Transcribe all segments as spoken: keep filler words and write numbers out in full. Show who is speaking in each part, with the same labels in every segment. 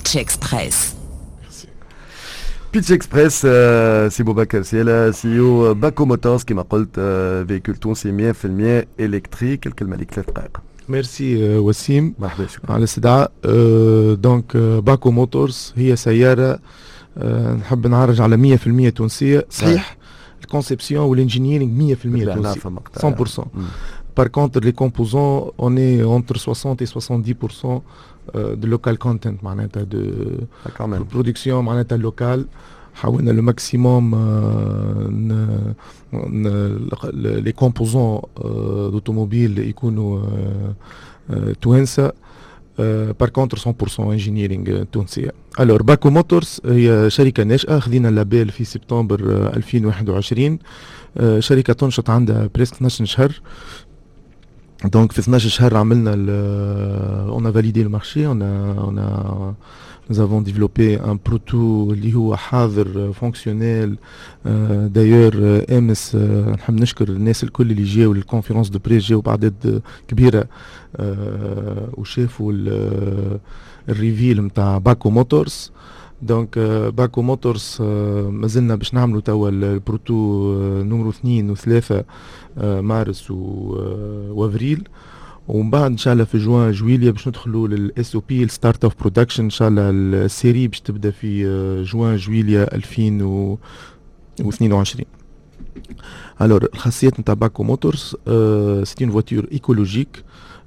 Speaker 1: Pitch Express.
Speaker 2: بيتش اكسبريس سي بوبكر سيلا سي او باكو موتورز كما قلت فيكول تونسي مية بالمية الكتريك. الكلمه لك ثلاث دقائق.
Speaker 3: ميرسي وسيم
Speaker 2: مرحبا شكرا
Speaker 3: على الاستدعاء. دونك باكو موتورز هي سياره نحب نعرج على مية بالمية تونسيه. صحيح الكونسيبسيون والانجينيرينغ مية بالمية تونسي مية بالمية. Par contre, les composants, on est entre soixante et soixante-dix pour cent de local content, معناتها de production معناتها locale. حاولنا le maximum les composants d'automobile يكونوا توانسة. Par contre cent pour cent engineering تونسية. Alors باكو موتورز هي شركة ناشئة، خذينا اللابيل في سبتمبر ألفين وواحد وعشرين. شركة تنشط عندها بريسك اثناش شهر. Donc في اثناش شهر عملنا on a validé le marché, on a on a nous avons développé un proto اللي هو حاضر fonctionnel. d'ailleurs امس نحب نشكر الناس الكل اللي جاوا للكونفرنس دو بريس، جاوا بعدد كبيرة وشافوا الريفيل نتاع باكو موتورز. دونك باكو موتورز مازلنا باش نعملوا توا البروتو نمرو اثنين وثلاثة مارس وافريل، ومن بعد ان شاء الله في جوان جويليا باش ندخلوا للاس او بي الستارت اوف برودكشن. ان شاء الله السيري باش تبدا في جوان جويليا ألفين واثنين وعشرين. الور الخاصيات نتاع باكو موتورز سي اون فواتور ايكولوجيك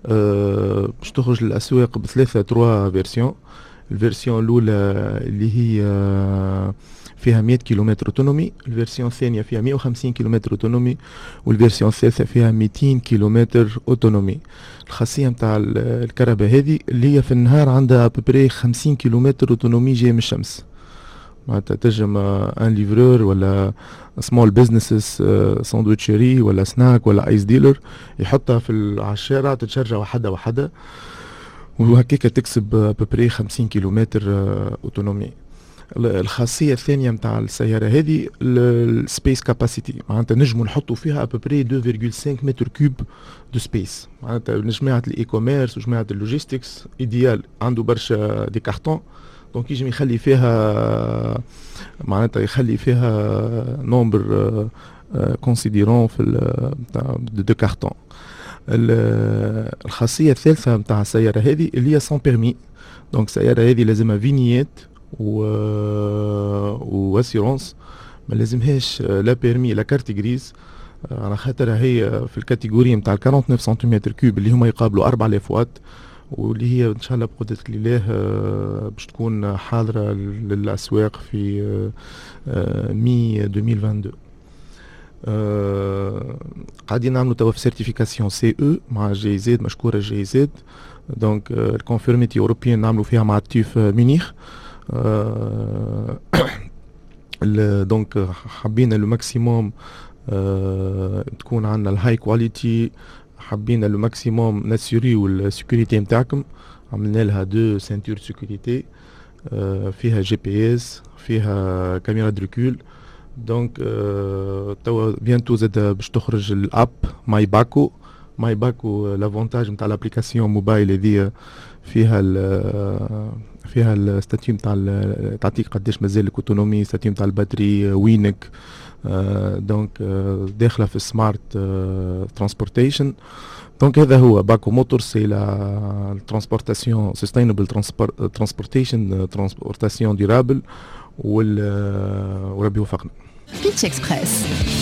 Speaker 3: باش تخرج للاسواق بثلاثه تروا فيرسيون. الفيرسيون الاولى اللي هي فيها مية كيلومتر اوتونومي، الفيرسيون الثانيه فيها مية وخمسين كيلومتر اوتونومي، والفيرسيون الثالثه فيها ميتين كيلومتر اوتونومي. الخاصيه نتاع الكهرباء هذه اللي هي في النهار عندها ابري خمسين كيلومتر اوتونومي جاي من الشمس. معناتها تنجم ان ليفرور ولا سمول بزنسز ساندويتشري ولا سناك ولا ايس ديلر يحطها في على الشارع تتشرج وحده وحده، وهكاك تكسب ببري خمسين كيلومتر اوتونومي. الخاصيه الثانيه نتاع السياره هذه السبيس كاباسيتي، معناتها نجموا نحطوا فيها ابري اثنين فاصلة خمسة متر كوب دو سبيس. معناتها لجماعه الاي كوميرس وجماعه اللوجيستكس ايديال عنده برشا دي كارتون، دونك يجم يخلي فيها معناتها يخلي فيها نومبر كونسيديرون في دو كارتون. الخاصيه الثالثه نتاع السياره هذه اللي هي سون بيرمي. دونك السياره هذه لازمها فينيات و واسيرونس، ما لازمهاش لا بيرمي لا كارت غريز، على خاطر هي في الكاتيجوري نتاع تسعة وأربعين سنتيمتر كوب اللي هما يقابلوا أربعة آلاف واط، واللي هي ان شاء الله بقدرة الله باش تكون حاضرة للأسواق في مي ألفين واثنين وعشرين. أه قاعدين نعملوا توا في سيرتيفيكاسيون سي او مع جي زد، مشكورة جي زد. دونك الكونفيرميتي اوروبيان نعملوا فيها مع التيف ميونيخ. أه دونك حبينا لو ماكسيموم أه تكون عندنا الهاي كواليتي، حبينا لو ماكسيموم ناسيوريو السيكوريتي نتاعكم. عملنا لها دو سنتور سيكوريتي أه فيها جي بي اس، فيها كاميرا دريكول. دونك أه توا بيانتو زاد باش تخرج الاب ماي باكو. ماي باكو لافونتاج نتاع الابليكاسيون موبايل هذه فيها فيها الستاتيو نتاع تعطيك قداش مازال لك اوتونومي، ستاتيو نتاع الباتري وينك. أه دونك أه داخله في سمارت أه ترانسبورتيشن. دونك هذا هو باكو موتور، سي لا ترانسبورتاسيون سستينبل ترانسبورتيشن ترانسبورتاسيون ديرابل، وربي يوفقنا.
Speaker 1: بيتش اكسبريس.